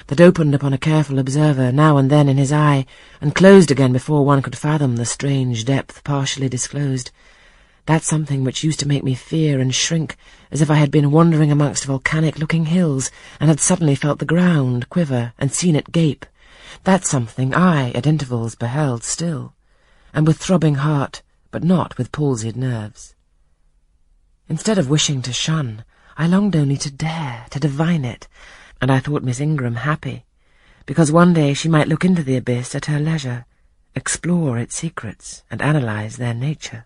that opened upon a careful observer now and then in his eye, and closed again before one could fathom the strange depth partially disclosed. That something which used to make me fear and shrink, as if I had been wandering amongst volcanic-looking hills, and had suddenly felt the ground quiver and seen it gape. That something I, at intervals, beheld still, and with throbbing heart, but not with palsied nerves. Instead of wishing to shun, I longed only to dare, to divine it, and I thought Miss Ingram happy, because one day she might look into the abyss at her leisure, explore its secrets, and analyze their nature.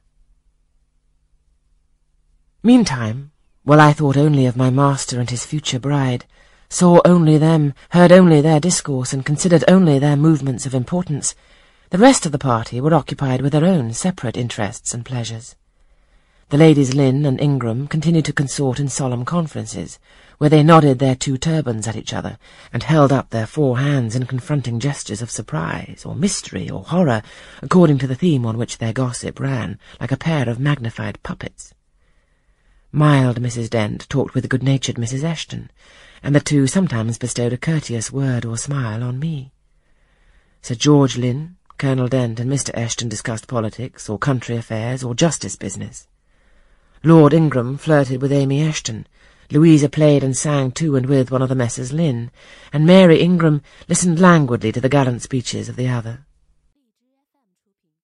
Meantime, while I thought only of my master and his future bride, saw only them, heard only their discourse, and considered only their movements of importance, the rest of the party were occupied with their own separate interests and pleasures. The ladies Lynn and Ingram continued to consort in solemn conferences, where they nodded their 2 turbans at each other, and held up their 4 hands in confronting gestures of surprise, or mystery, or horror, according to the theme on which their gossip ran, like a pair of magnified puppets. Mild Mrs. Dent talked with good-natured Mrs. Eshton, and the 2 sometimes bestowed a courteous word or smile on me. Sir George Lynn, Colonel Dent, and Mr. Eshton discussed politics, or country affairs, or justice business. Lord Ingram flirted with Amy Eshton, Louisa played and sang to and with one of the Messrs. Lynn, and Mary Ingram listened languidly to the gallant speeches of the other.